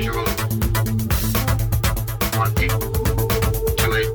visual. 1, 2, 8.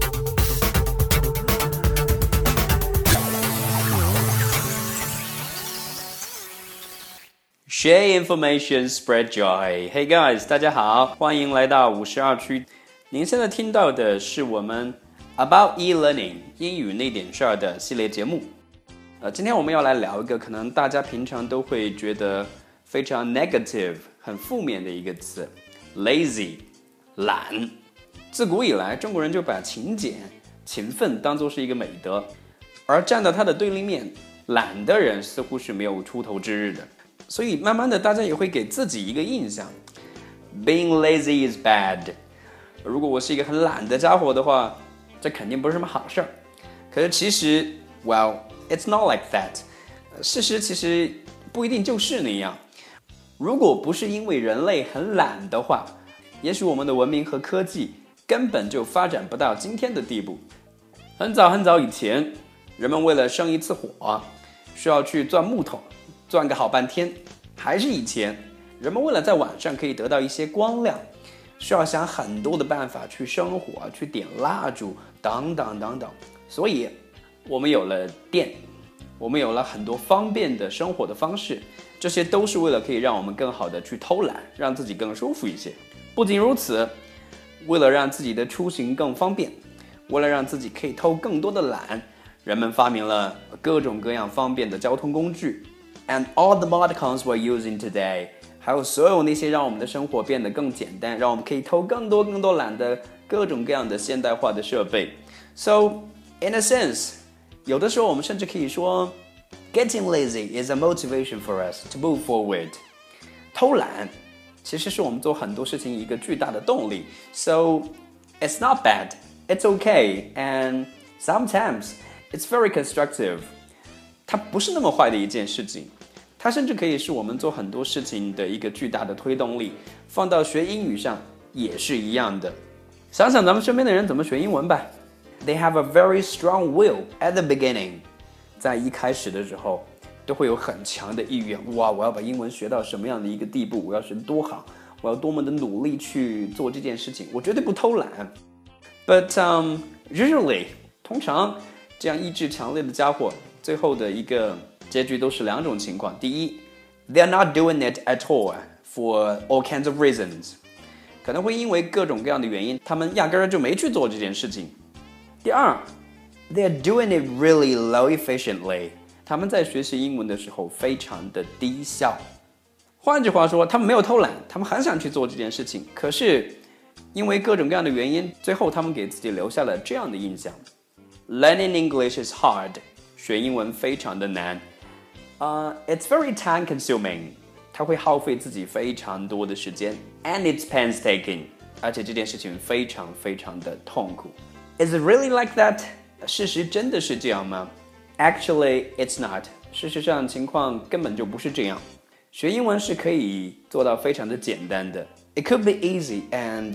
Share information, spread joy. Hey guys, 大家好，欢迎来到52区。您现在听到的是我们 About e-learning 英语那点事儿的系列节目。今天我们要来聊一个可能大家平常都会觉得非常 negative 很负面的一个词 lazy 懒。自古以来中国人就把勤俭勤奋当作是一个美德，而站到它的对立面，懒的人似乎是没有出头之日的。所以慢慢的大家也会给自己一个印象 Being lazy is bad。 如果我是一个很懒的家伙的话，这肯定不是什么好事儿。可是其实 Well, it's not like that。 事实其实不一定就是那样。如果不是因为人类很懒的话，也许我们的文明和科技根本就发展不到今天的地步。很早很早以前，人们为了生一次火，需要去钻木头，钻个好半天。还是以前，人们为了在晚上可以得到一些光亮，需要想很多的办法去生火，去点蜡烛，等等等等。所以我们有了电，我们有了很多方便的生活的方式，这些都是为了可以让我们更好的去偷懒，让自己更舒服一些。不仅如此，为了让自己的出行更方便，为了让自己可以偷更多的懒，人们发明了各种各样方便的交通工具。And all the modcons we're using today， 还有所有那些让我们的生活变得更简单，让我们可以偷更多懒的各种各样的现代化的设备。So, in a sense， 有的时候我们甚至可以说 Getting lazy is a motivation for us to move forward。 偷懒其实是我们做很多事情一个巨大的动力。So, it's not bad, it's okay, and sometimes it's very constructive。 它不是那么坏的一件事情，它甚至可以是我们做很多事情的一个巨大的推动力。放到学英语上也是一样的。想想咱们身边的人怎么学英文吧。They have a very strong will at the beginning。 在一开始的时候都会有很强的意愿，哇，我要把英文学到什么样的一个地步，我要学得多好，我要多么的努力去做这件事情，我绝对不偷懒。 But usually 通常这样意志强烈的家伙最后的一个结局都是两种情况。第一， They're not doing it at all for all kinds of reasons， 可能会因为各种各样的原因，他们压根儿就没去做这件事情。第二， They're doing it really low efficiently， 他们在学习英文的时候非常的低效。换句话说，他们没有偷懒，他们很想去做这件事情，可是因为各种各样的原因，最后他们给自己留下了这样的印象。 Learning English is hard， 学英文非常的难。It's very time consuming， 它会耗费自己非常多的时间。And it's painstaking， 而且这件事情非常非常的痛苦。Is it really like that？ 事实真的是这样吗？ Actually, it's not。 事实上情况根本就不是这样。学英文是可以做到非常的简单的。It could be easy and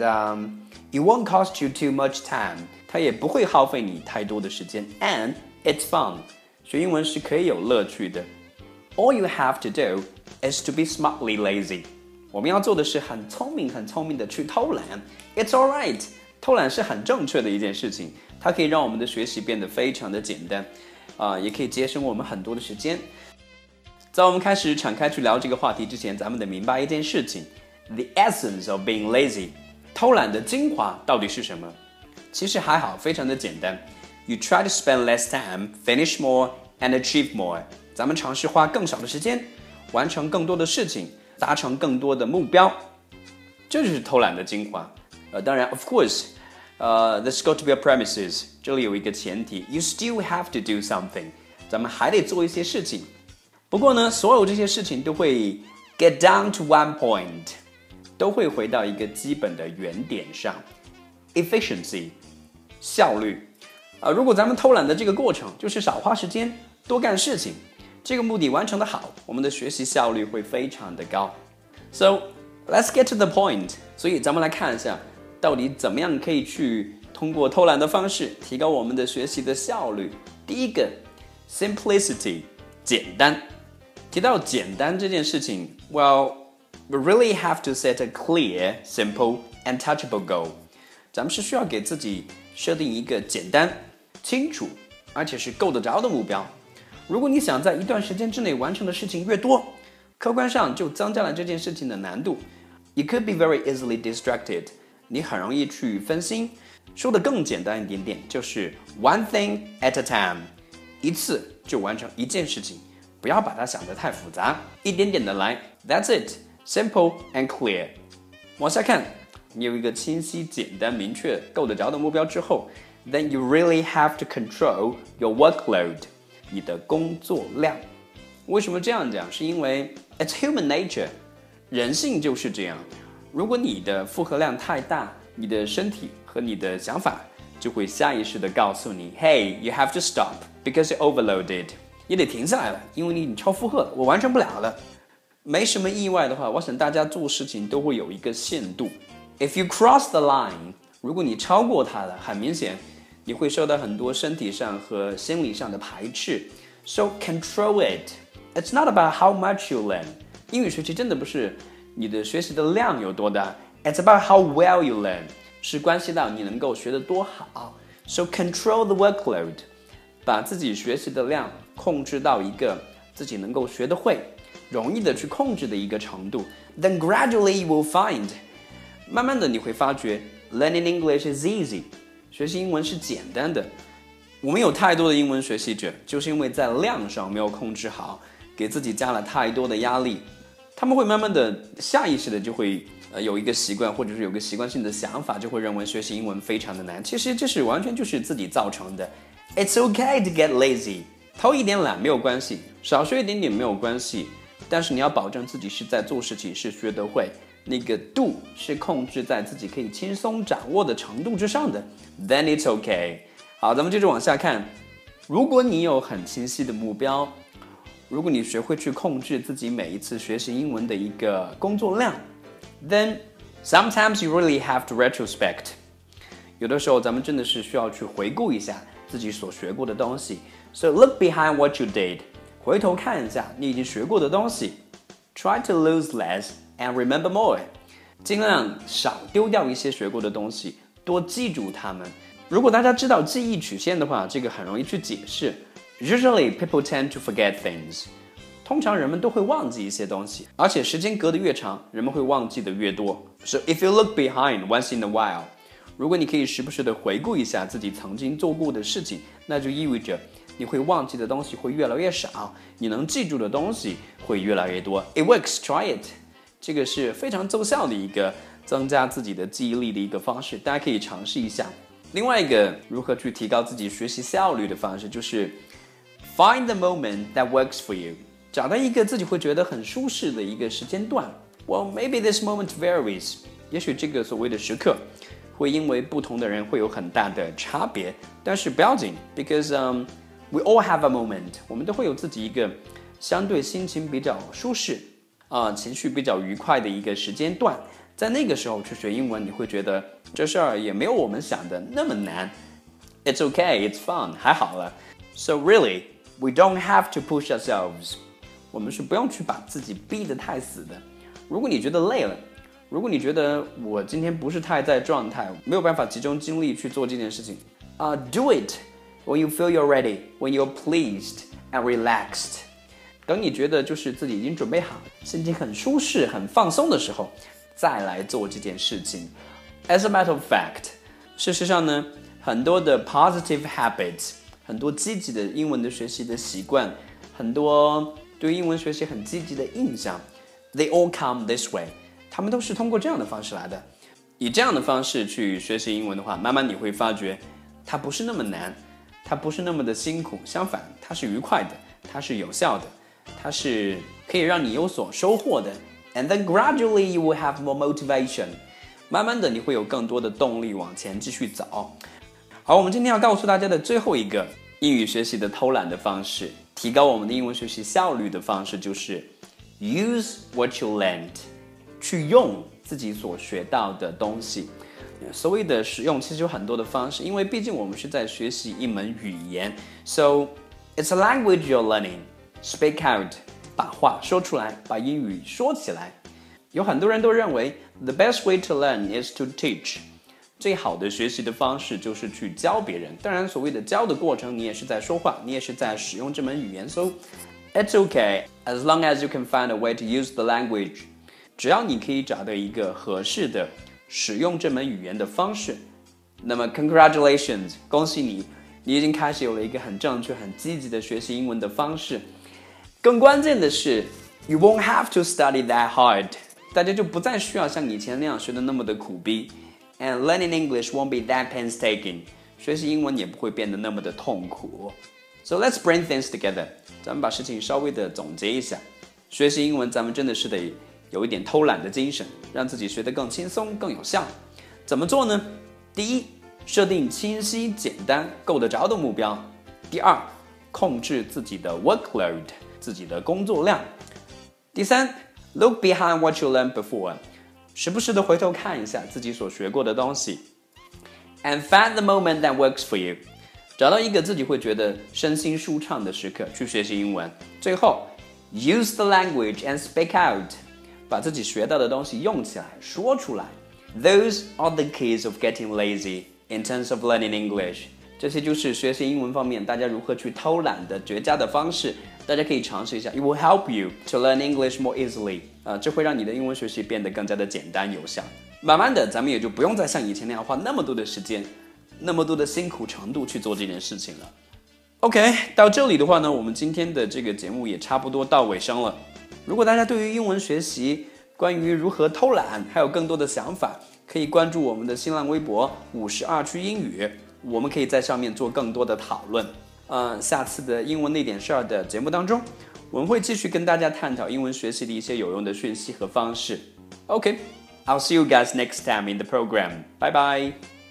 it won't cost you too much time。 它也不会耗费你太多的时间。And it's fun。 学英文是可以有乐趣的。All you have to do is to be smartly lazy。 我们要做的是很聪明的去偷懒。 It's alright， 偷懒是很正确的一件事情，它可以让我们的学习变得非常的简单，也可以节省我们很多的时间。在我们开始敞开去聊这个话题之前，咱们得明白一件事情， The essence of being lazy， 偷懒的精华到底是什么？其实还好，非常的简单。You try to spend less time, finish more, and achieve more。 咱们尝试花更少的时间，完成更多的事情，达成更多的目标，这就是偷懒的精华。当然 of course there's got to be a premises， 这里有一个前提， You still have to do something， 咱们还得做一些事情。不过呢，所有这些事情都会 get down to one point， 都会回到一个基本的原点上， efficiency， 效率。如果咱们偷懒的这个过程就是少花时间，多干事情，这个目的完成的好，我们的学习效率会非常的高。 So let's get to the point。 所以咱们来看一下，到底怎么样可以去通过偷懒的方式提高我们的学习的效率。第一个 simplicity， 简单。提到简单这件事情 well We really have to set a clear, simple, and touchable goal. 咱们是需要给自己设定一个简单、清楚，而且是够得着的目标。如果你想在一段时间之内完成的事情越多，客观上就增加了这件事情的难度。You could be very easily distracted. 你很容易去分心。说的更简单一点点，就是 one thing at a time， 一次就完成一件事情，不要把它想得太复杂，一点点的来。That's it, simple and clear. 往下看，你有一个清晰、简单、明确、够得着的目标之后 ，then you really have to control your workload. 你的工作量。为什么这样讲？是因为 it's human nature， 人性就是这样。如果你的负荷量太大，你的身体和你的想法就会下意识地告诉你 ，Hey, you have to stop because you're overloaded。你得停下来了，因为你超负荷了，我完成不了了。没什么意外的话，我想大家做事情都会有一个限度。If you cross the line， 如果你超过它了，很明显你会受到很多身体上和心理上的排斥。So control it. It's not about how much you learn. 英语学习真的不是你的学习的量有多大 ，It's about how well you learn. 是关系到你能够学得多好。So control the workload. 把自己学习的量控制到一个自己能够学得会、容易的去控制的一个程度。Then gradually you will find. 慢慢的你会发觉 ，learning English is easy. 学习英文是简单的。我们有太多的英文学习者，就是因为在量上没有控制好，给自己加了太多的压力，他们会慢慢的下意识的就会有一个习惯，或者是有个习惯性的想法，就会认为学习英文非常的难。其实这是完全就是自己造成的。It's okay to get lazy， 偷一点懒没有关系，少学一点点没有关系，但是你要保证自己是在做事情，是学得会，那个度是控制在自己可以轻松掌握的程度之上的。Then it's okay。好，咱们接着往下看。如果你有很清晰的目标，如果你学会去控制自己每一次学习英文的一个工作量 ，then sometimes you really have to retrospect。有的时候咱们真的是需要去回顾一下自己所学过的东西。So look behind what you did， 回头看一下你已经学过的东西。Try to lose less and remember more， 尽量少丢掉一些学过的东西，多记住它们。如果大家知道记忆曲线的话，这个很容易去解释。Usually people tend to forget things。通常人们都会忘记一些东西，而且时间隔得越长，人们会忘记的越多。So if you look behind once in a while， 如果你可以时不时的回顾一下自己曾经做过的事情，那就意味着你会忘记的东西会越来越少，你能记住的东西会越来越多。It works, try it。这个是非常奏效的一个增加自己的记忆力的一个方式，大家可以尝试一下。另外一个如何去提高自己学习效率的方式，就是 find the moment that works for you， 找到一个自己会觉得很舒适的一个时间段。Well, maybe this moment varies， 也许这个所谓的时刻会因为不同的人会有很大的差别，但是不要紧 ，because we all have a moment， 我们都会有自己一个相对心情比较舒适情绪比较愉快的一个时间段。在那个时候去学英文，你会觉得这事儿也没有我们想的那么难。It's okay, it's fun， 还好了。So really, we don't have to push ourselves。我们是不用去把自己逼得太死的。如果你觉得累了，如果你觉得我今天不是太在状态，没有办法集中精力去做这件事情，do it when you feel you're ready, when you're pleased and relaxed。等你觉得就是自己已经准备好，心情很舒适、很放松的时候，再来做这件事情。As a matter of fact， 事实上呢，很多的 positive habits， 很多积极的英文的学习的习惯，很多对英文学习很积极的印象 ，they all come this way。他们都是通过这样的方式来的。以这样的方式去学习英文的话，慢慢你会发觉，它不是那么难，它不是那么的辛苦，相反，它是愉快的，它是有效的，它是可以让你有所收获的。And then gradually you will have more motivation。慢慢的你会有更多的动力往前继续走。好，我们今天要告诉大家的最后一个英语学习的偷懒的方式，提高我们的英文学习效率的方式，就是 use what you learned。去用自己所学到的东西。所谓的使用其实有很多的方式，因为毕竟我们是在学习一门语言 ，so it's a language you're learning. Speak out， 把话说出来，把英语说起来。 有很多人都认为 the best way to learn is to teach， 最好的学习的方式就是去教别人。当然，所谓的教的过程，你也是在说话，你也是在使用这门语言。So it's okay as long as you can find a way to use the language。只要你可以找到一个合适的使用这门语言的方式，那么 congratulations， 恭喜你，你已经开始有了一个很正确、很积极的学习英文的方式。更关键的是 ，you won't have to study that hard， 大家就不再需要像以前那样学的那么的苦逼 ，and learning English won't be that painstaking， 学习英文也不会变得那么的痛苦。So let's bring things together， 咱们把事情稍微的总结一下。学习英文，咱们真的是得有一点偷懒的精神，让自己学得更轻松、更有效。怎么做呢？第一，设定清晰、简单、够得着的目标。第二，控制自己的 workload， 自己的工作量。第三 ，look behind what you learned before， 时不时的回头看一下自己所学过的东西。And find the moment that works for you， 找到一个自己会觉得身心舒畅的时刻去学习英文。最后 ，use the language and speak out， 把自己学到的东西用起来，说出来。Those are the keys of getting lazy in terms of learning English。这些就是学习英文方面大家如何去偷懒的绝佳的方式，大家可以尝试一下。It will help you to learn English more easily。这会让你的英文学习变得更加的简单有效。慢慢的，咱们也就不用再像以前那样花那么多的时间，那么多的辛苦程度去做这件事情了。OK， 到这里的话呢，我们今天的这个节目也差不多到尾声了。如果大家对于英文学习，关于如何偷懒还有更多的想法，可以关注我们的新浪微博52区英语，我们可以在上面做更多的讨论。下次的英文那点事儿的节目当中，我们会继续跟大家探讨英文学习的一些有用的讯息和方式。OK，I'll see you guys next time in the program. Bye bye.